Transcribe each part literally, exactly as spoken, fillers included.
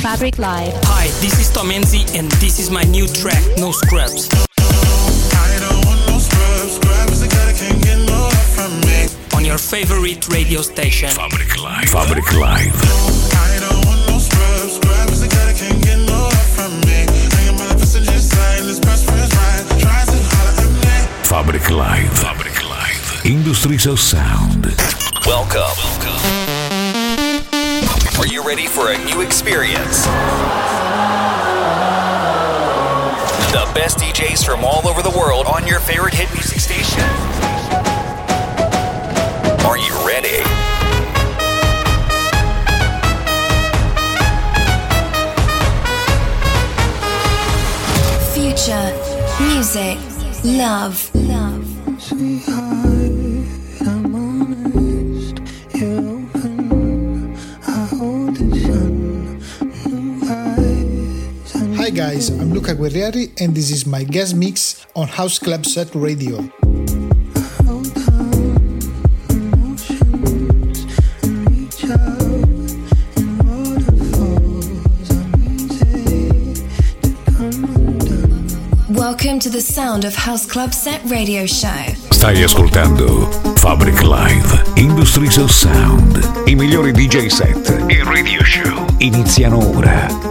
Fabric Live. Hi, this is Tom Enzi and this is my new track, No Scrubs. I don't want no scrubs, scrubs the guy that can't get no love from me. On your favorite radio station, Fabric Live. Fabric Live. I don't want no scrubs, scrubs the guy that can't get no love from me. Hanging by the passenger side, this best friend's ride, tries to holler at me. Fabric Live. Fabric Live. Industries of Sound. Welcome. Welcome. Are you ready for a new experience? The best D Js from all over the world on your favorite hit music station. Are you ready? Future, music, love, love. Sweetheart, I'm honest. You're open. I hold the sun. New eyes. Hi guys, I'm Luca Guerrieri and this is my guest mix on House Club Set Radio. Welcome to the sound of House Club Set Radio Show. Stai ascoltando Fabric Live, Industries of Sound. I migliori D J set e radio show iniziano ora.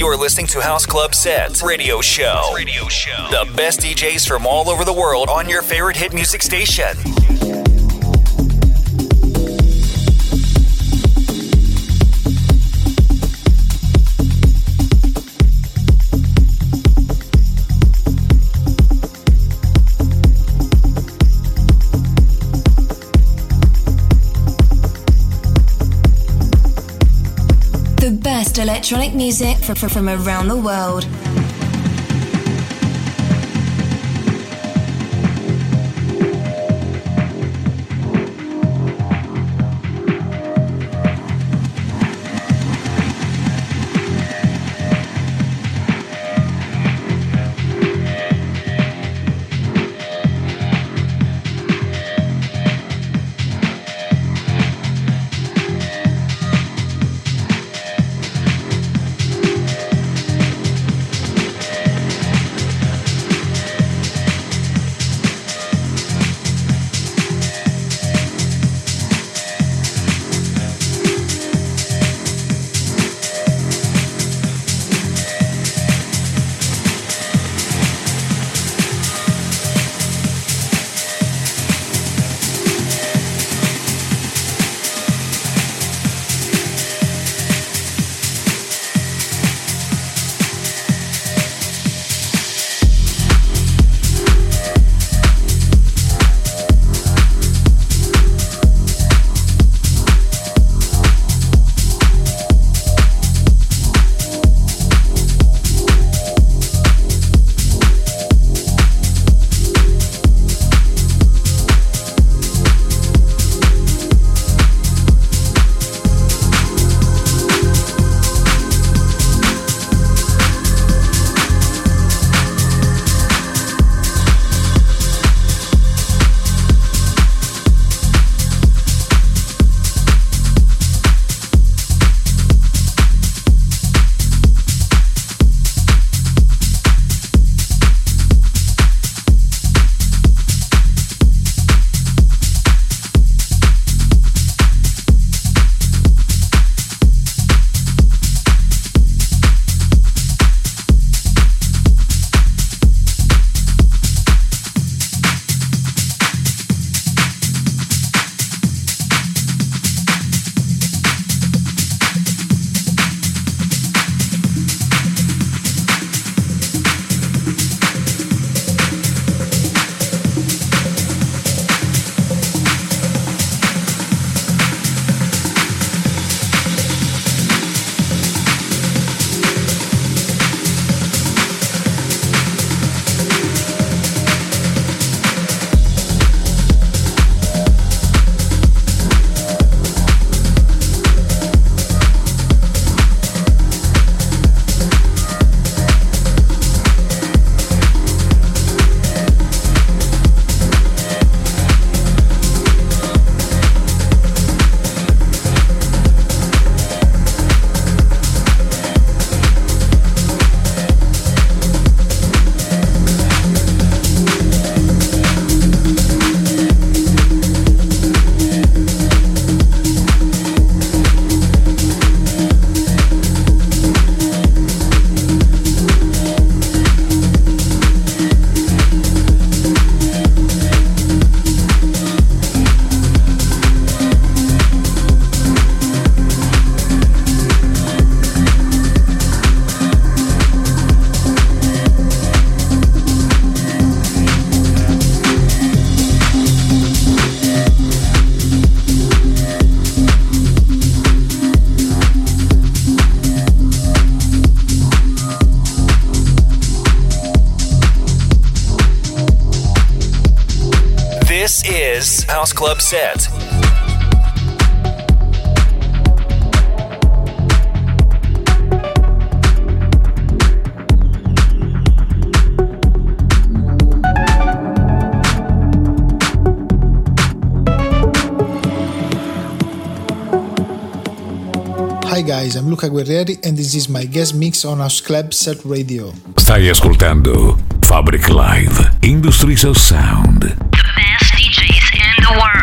You're listening to House Club Set Radio Show. Radio Show. The best D Js from all over the world on your favorite hit music station. Best electronic music from, from around the world. is House Club Set. Hi guys, I'm Luca Guerrieri and this is my guest mix on House Club Set Radio. Stai ascoltando Fabric Live, Industries of Sound. The best D Js in the world.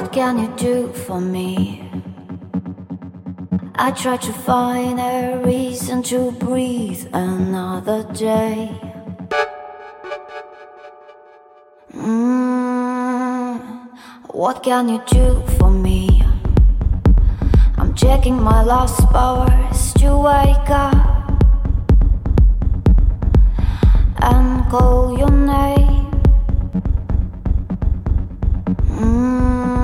What can you do for me? I try to find a reason to breathe another day. Mm, what can you do for me? I'm checking my last powers to wake up and call your name. Mm.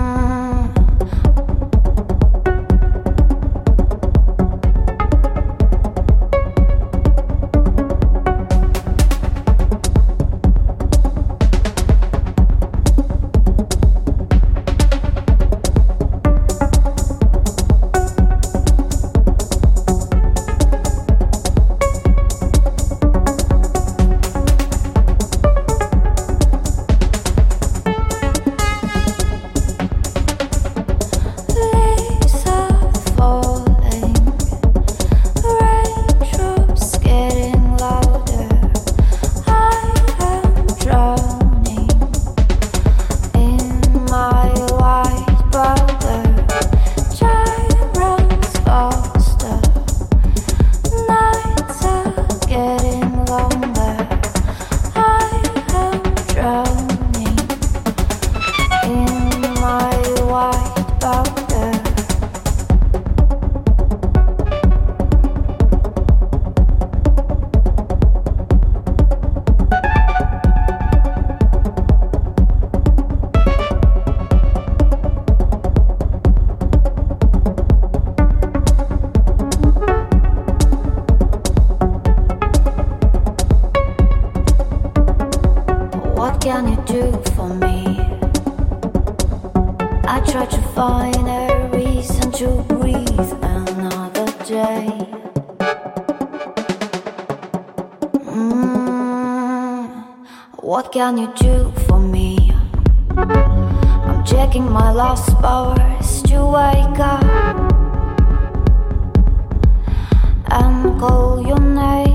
What can you do for me? I'm checking my last powers to wake up and call your name.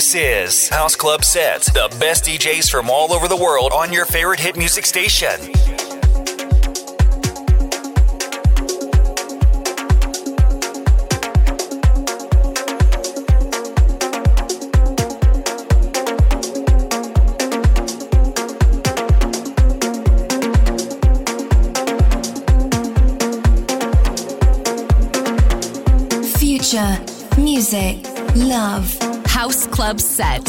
This is House Club Set, the best D Js from all over the world on your favorite hit music station. Future, music, love. House Club Set.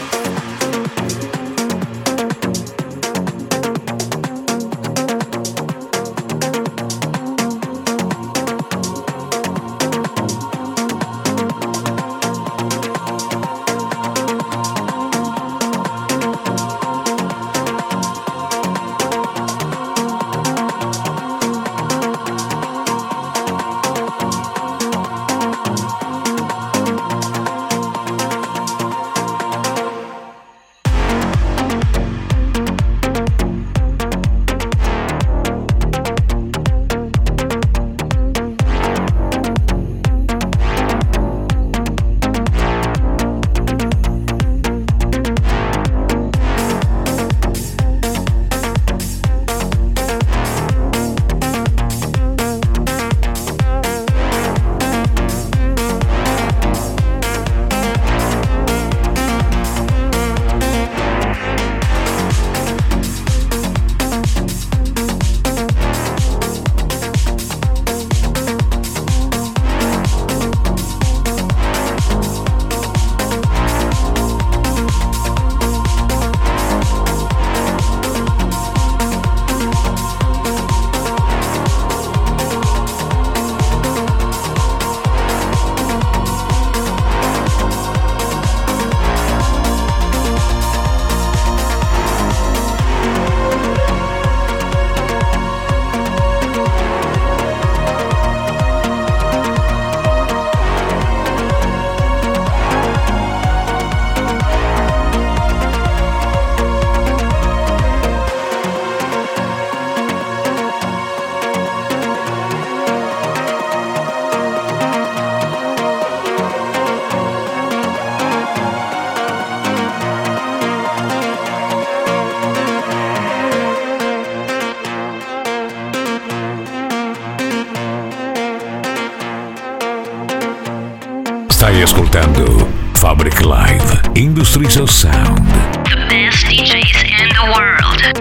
Stai ascoltando Fabric Live, Industries of Sound. The best D Js in the world.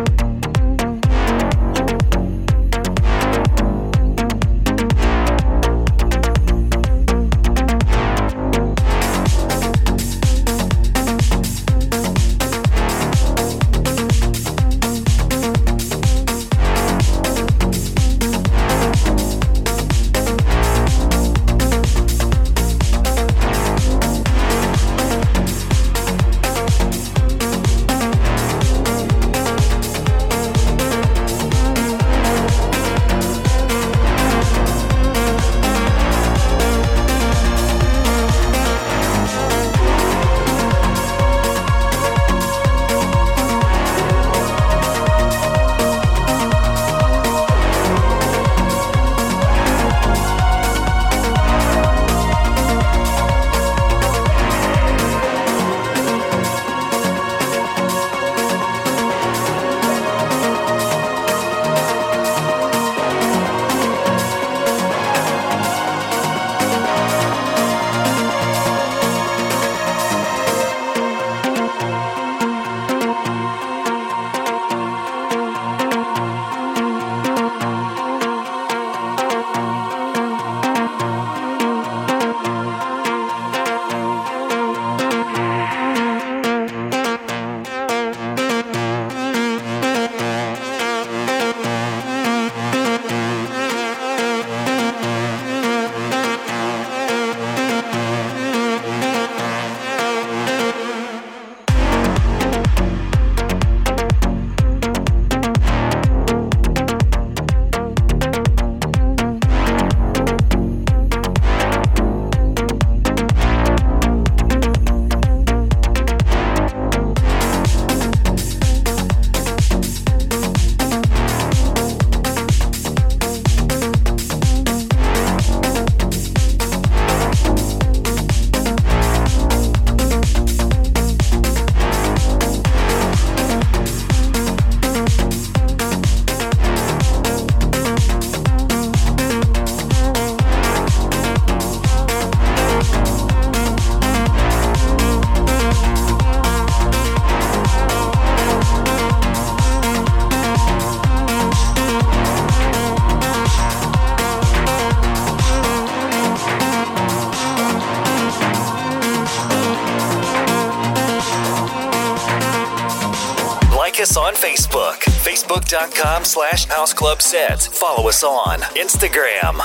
Like us on Facebook, facebook.com slash House Club Set. Follow us on Instagram.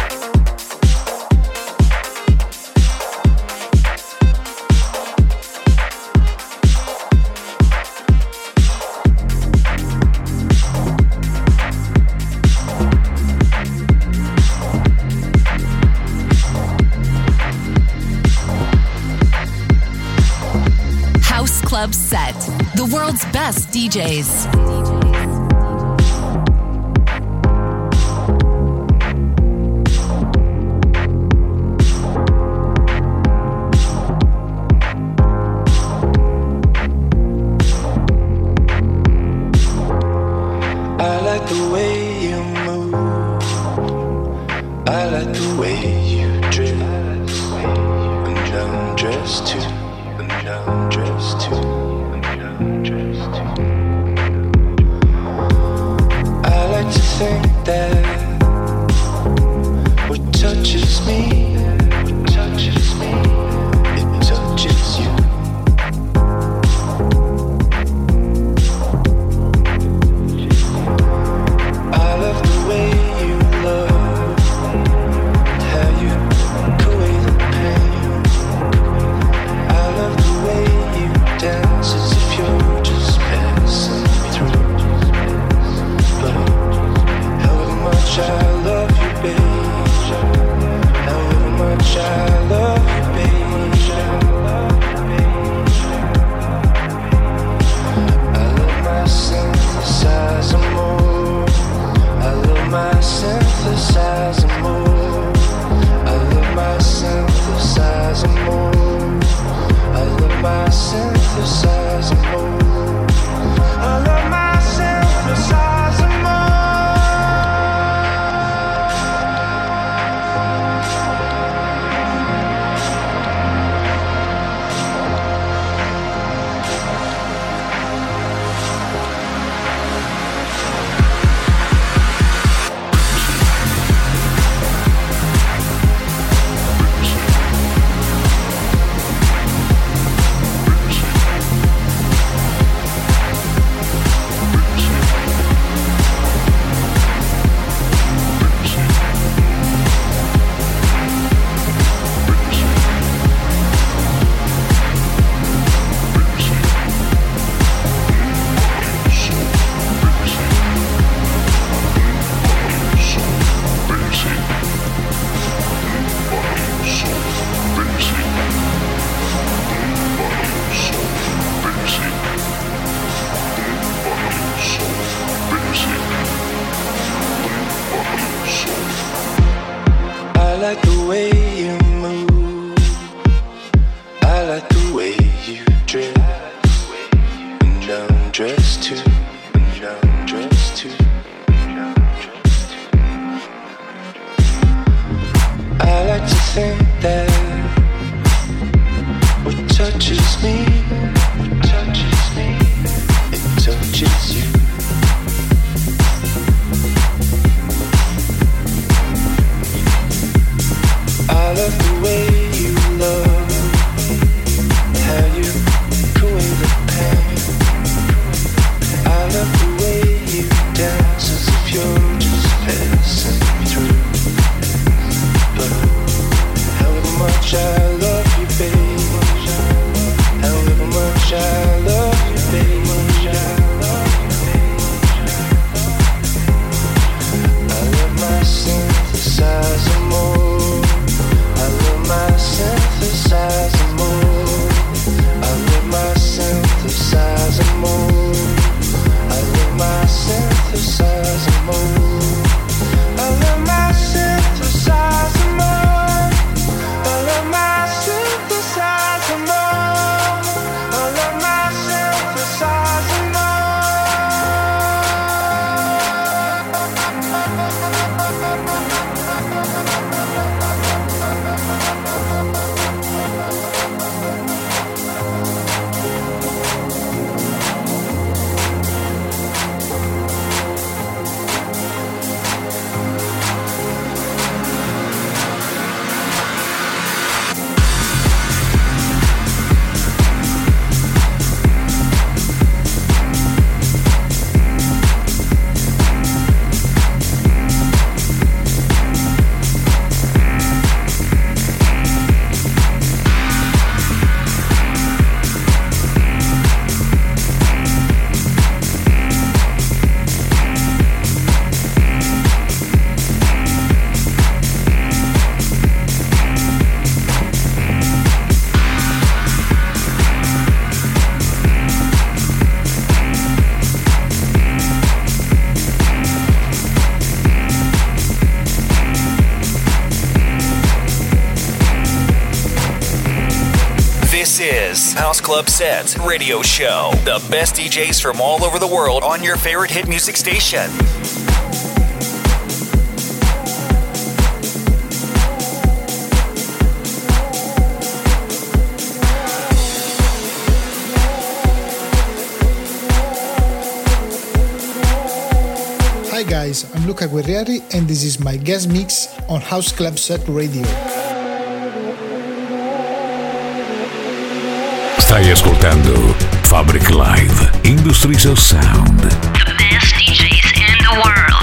Club Set, the world's best D Js. I like the way you move. I like the way you dress. And I'm dressed too. And I'm dressed too. And I'm dressed too. I like to think that what touches me, what touches me, it touches you. I love the way you love, how you take away the pain. I love the way you dance as if you're just passing through. But however much I love you, babe, however much I love you, babe, I love my synthesizer more. I love my synthesizer more. I love my synthesizer more. I love my synthesizer more. I love my synthesizer more. I like the way you move. I like the way you dress. And I'm dressed too. And I'm dressed too. I like to think that what touches me, what touches me, it touches you. I love the way you love, how you take away the pain. I love the way you dance as if you're just passing through. But however much I love you, babe, however much I love you, babe, I love my synthesizer more. I love my synthesizer more. I love my synthesizer more. I love my synthesizer more. Mix, House Club Set, Radio Show. The best D Js from all over the world on your favorite hit music station. Hi guys, I'm Luca Guerrieri and this is my guest mix on House Club Set Radio. Stai ascoltando Fabric Live, Industries of Sound. The best D Js in the world.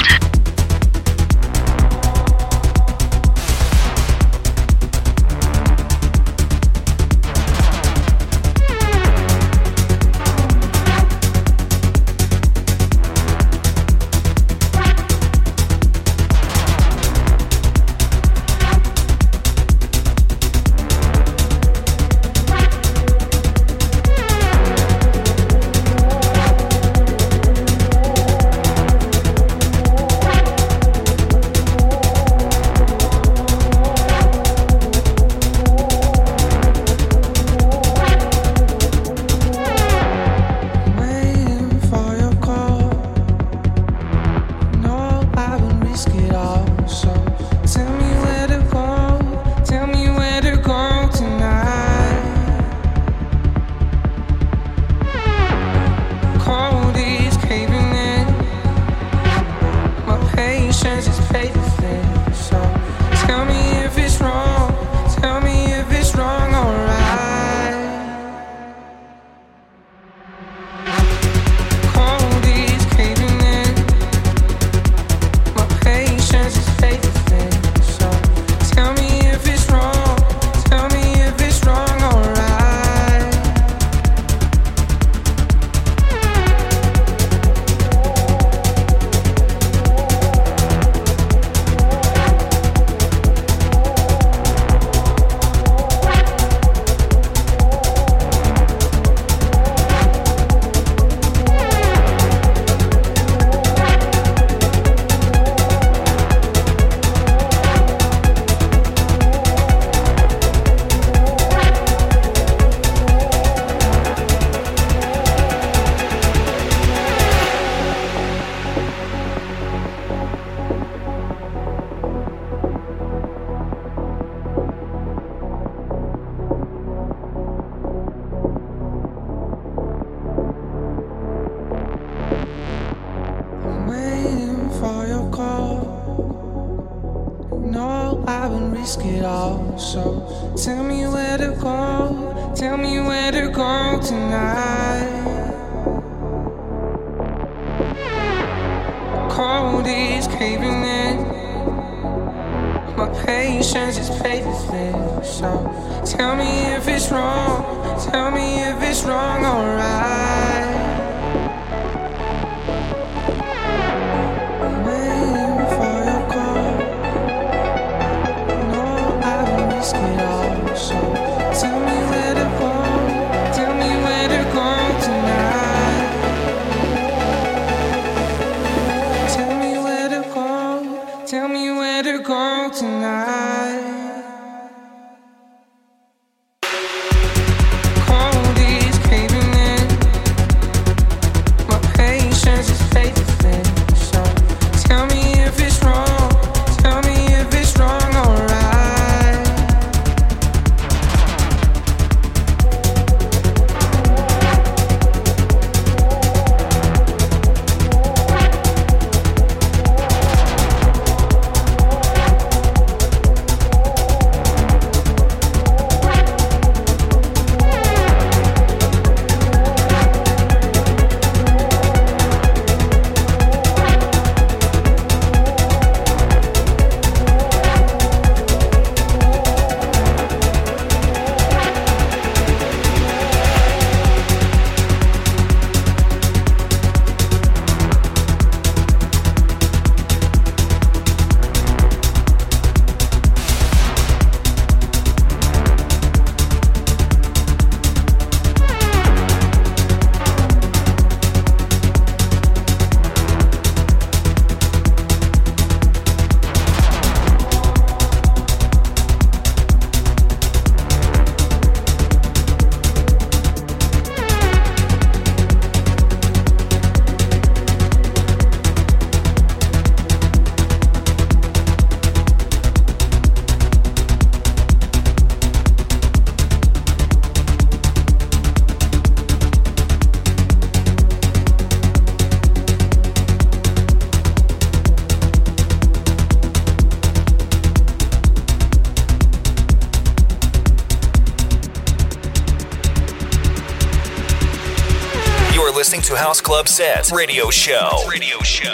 listening to House Club Set Radio Show. Radio Show.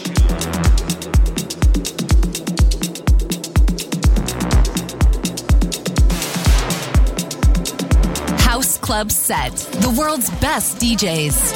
House Club Set, the world's best D Js.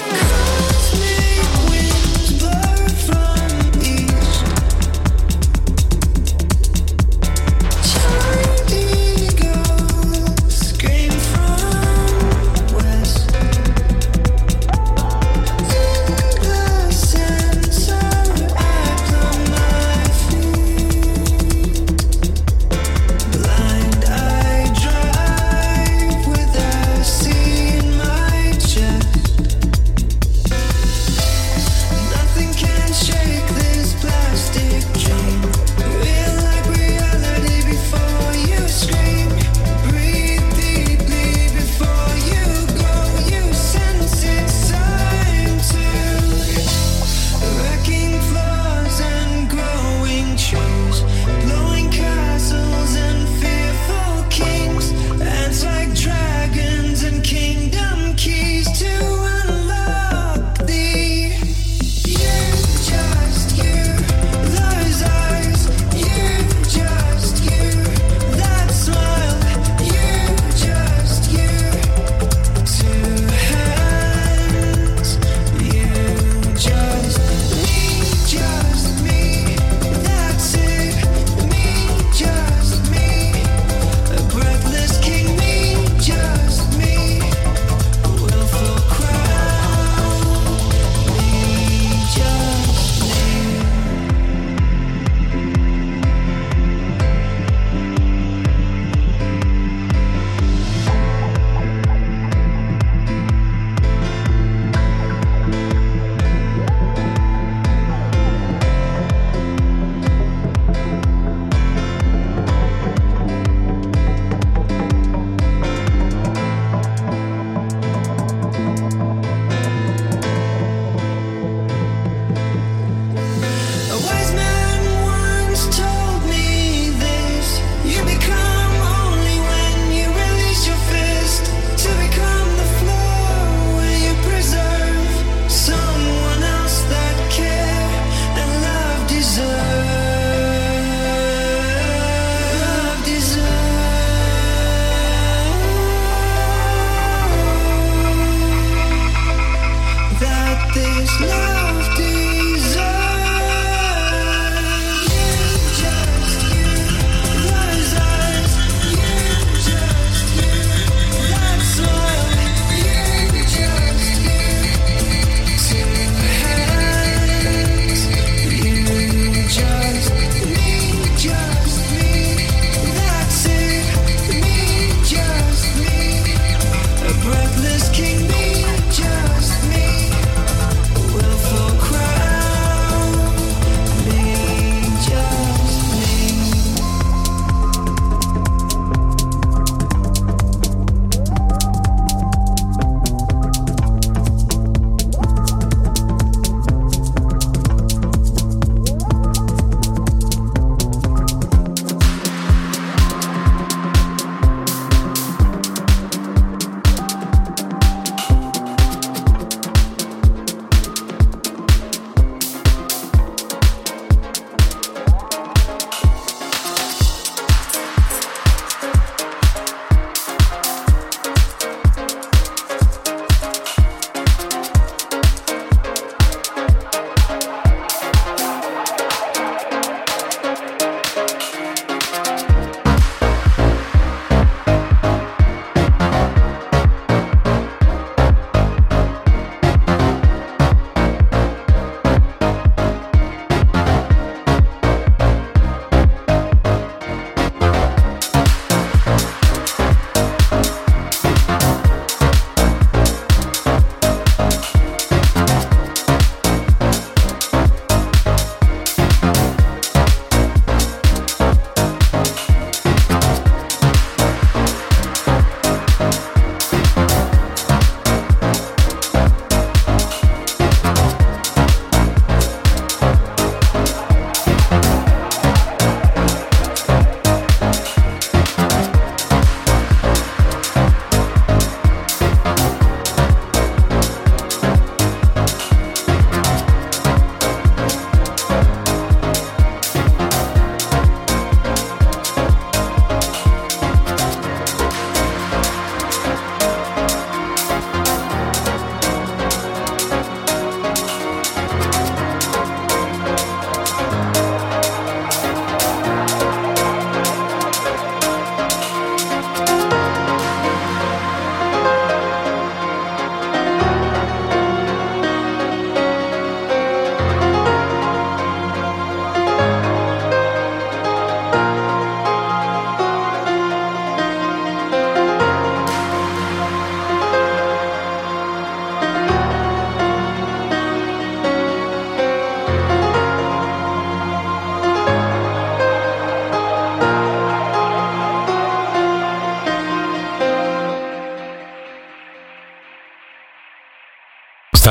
Breathless king, me, just me. Will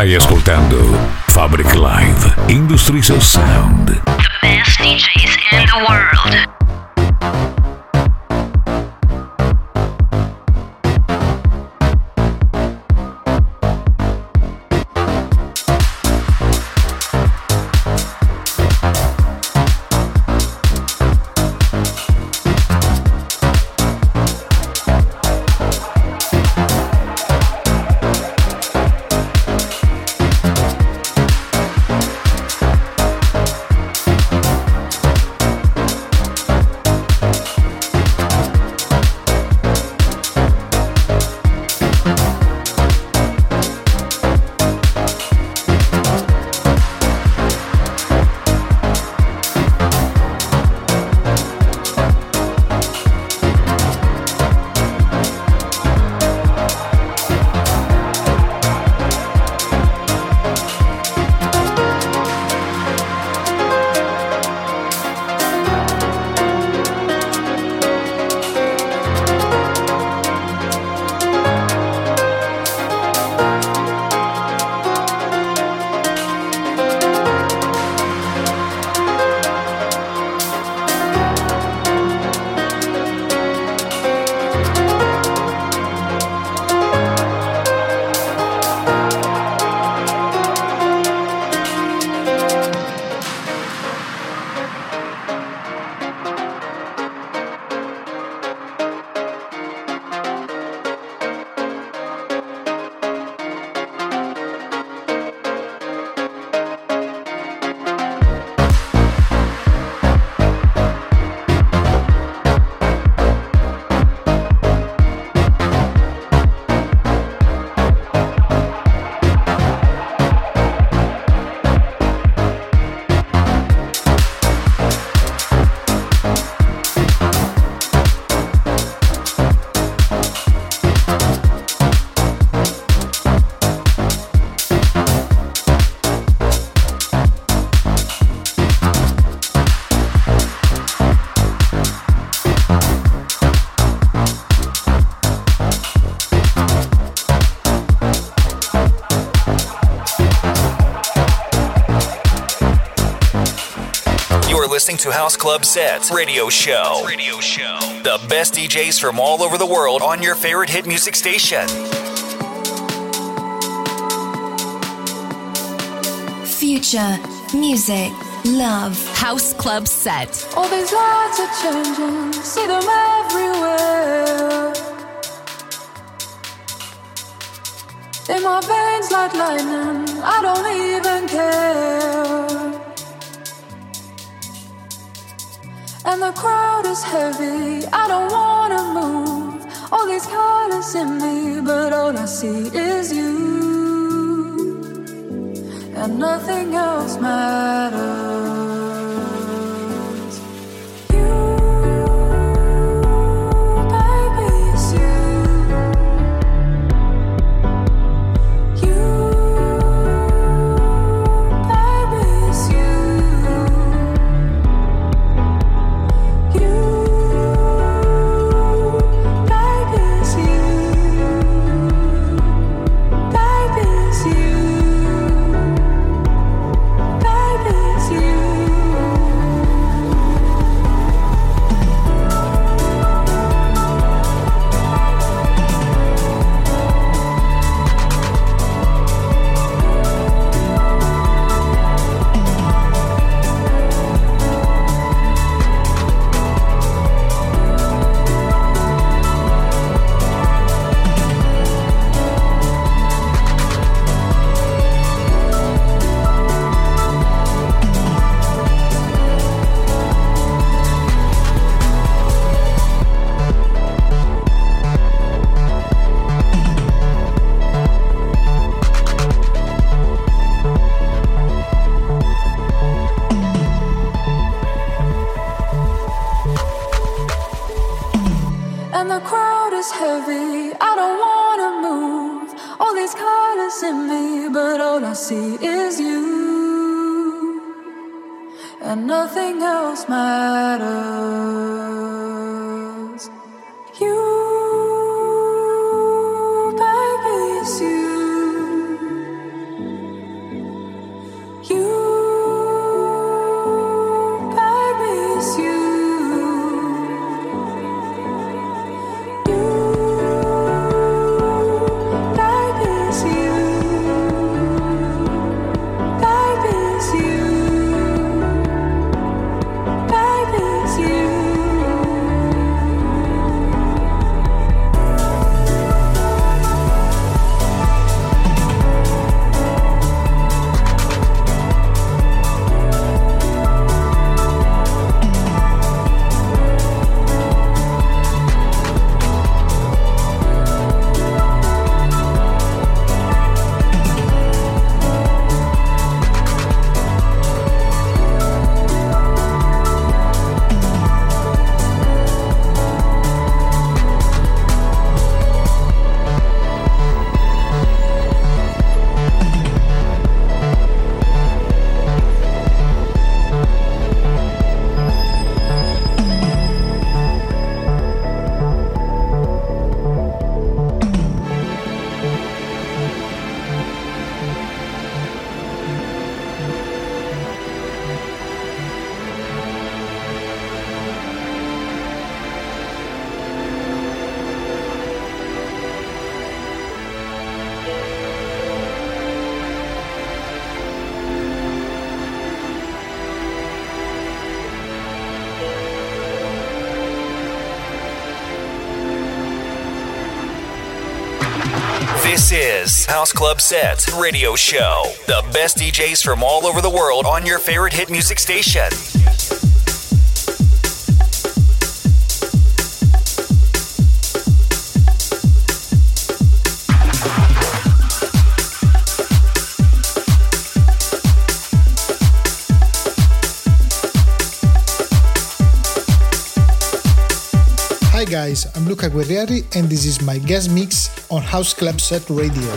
Stai ascoltando Fabric Live Industries of Sound. The best D Js in the world. Listening to House Club Set Radio Show. Radio Show. The best D Js from all over the world on your favorite hit music station. Future, music, love. House Club Set. All these lights are changing, see them everywhere. In my veins like lightning, I don't even care. And the crowd is heavy, I don't wanna move. All these colors in me, but all I see is you. And nothing else matters. And nothing else matters. You, baby, it's you. This is House Club Set Radio Show. The best D Js from all over the world on your favorite hit music station. Hi guys, I'm Luca Guerrieri and this is my guest mix on House Club Set Radio.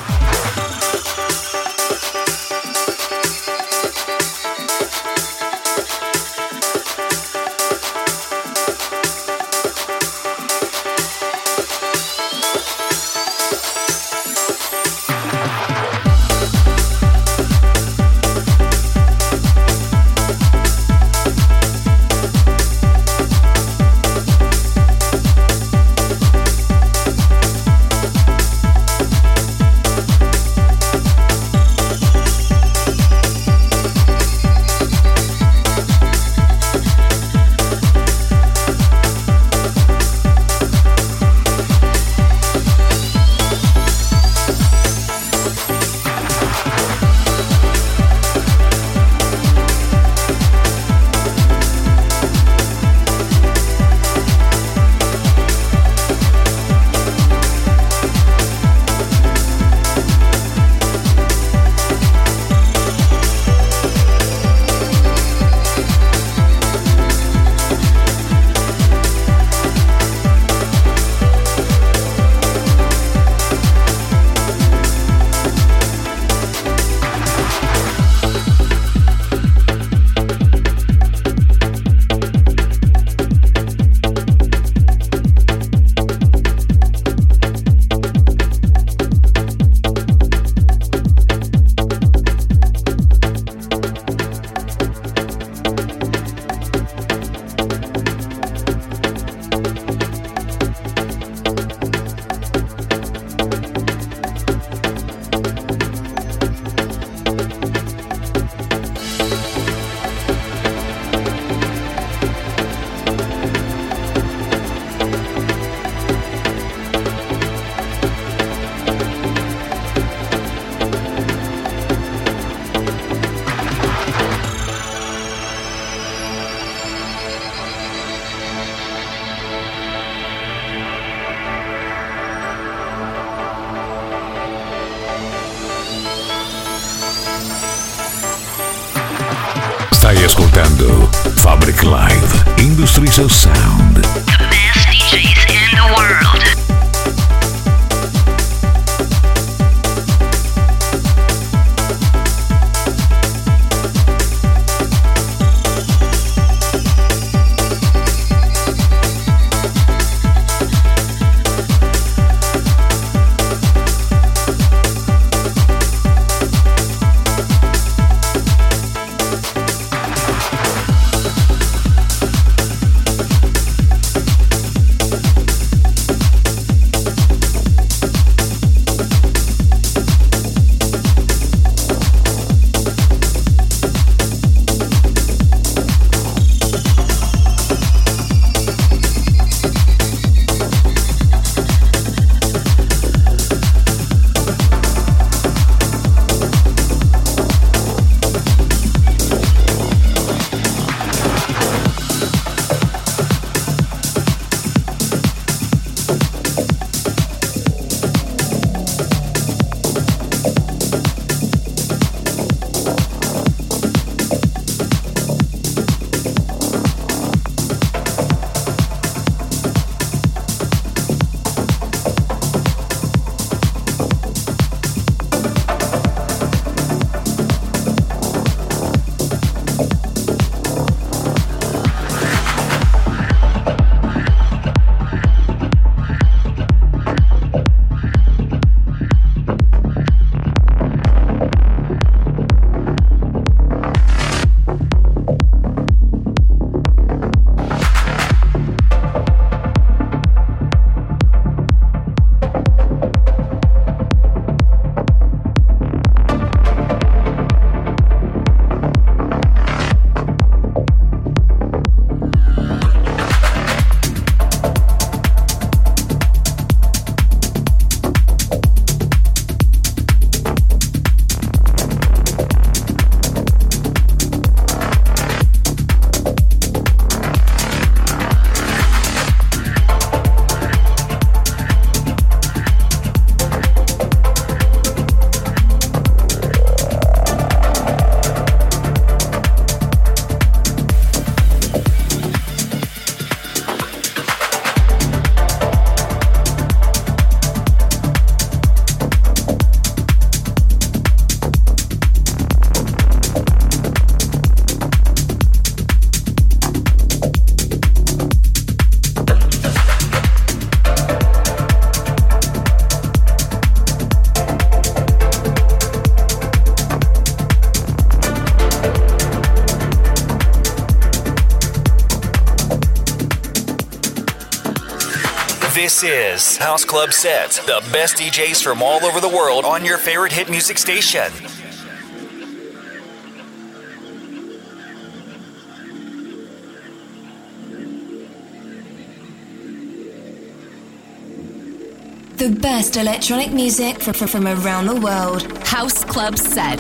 Stai ascoltando Fabric Live Industries of Sound. The best D Js in the world. This is House Club Set, the best D Js from all over the world on your favorite hit music station. The best electronic music from, from around the world. House Club Set.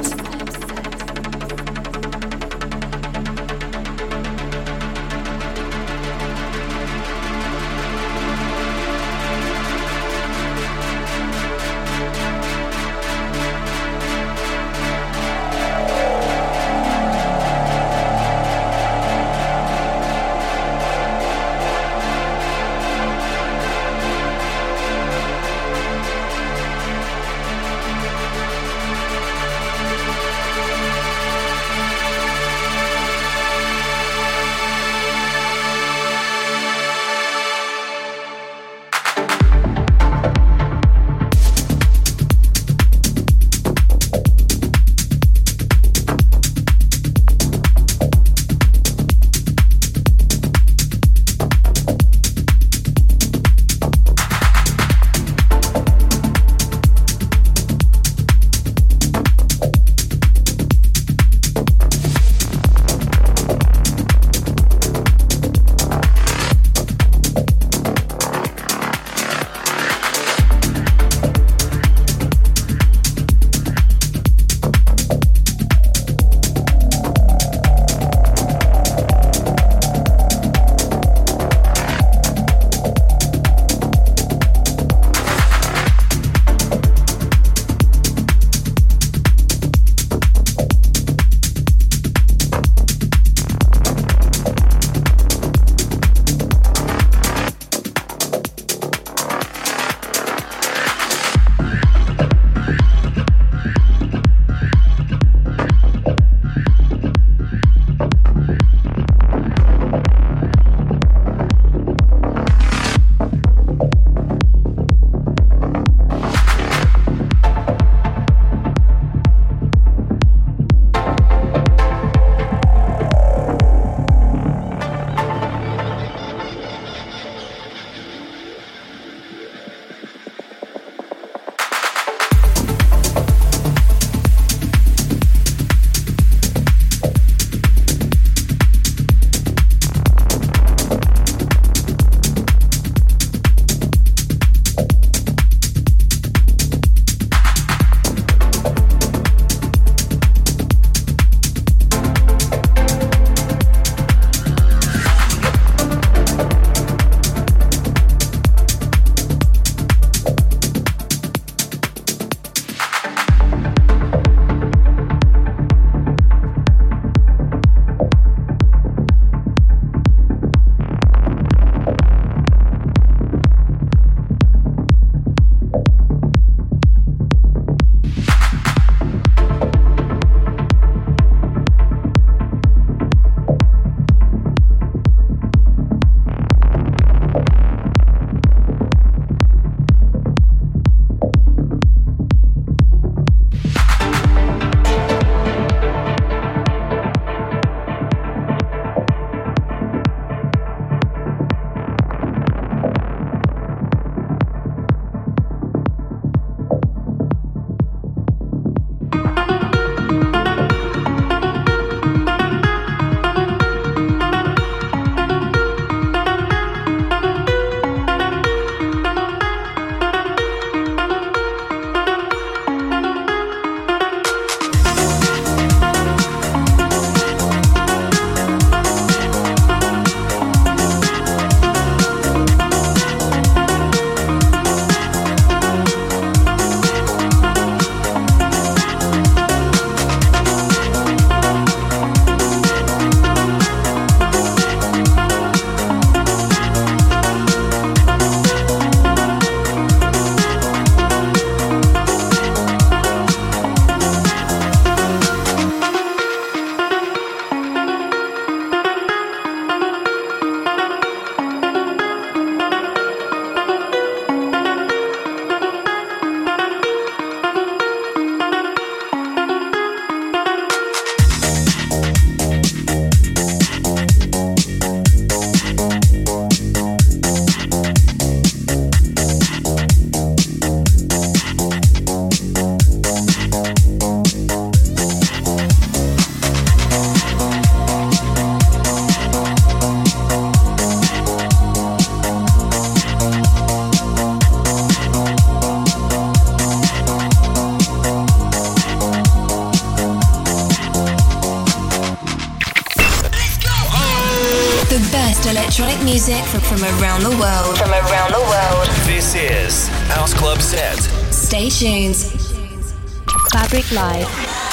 electronic music from, from around the world. From around the world. This is House Club Set. Stay tuned. Fabric Live.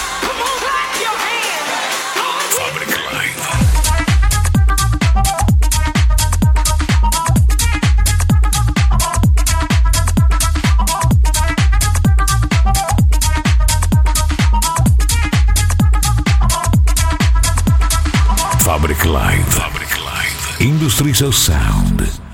Fabric Live. Fabric Live. Fabric Live. Industries of Sound.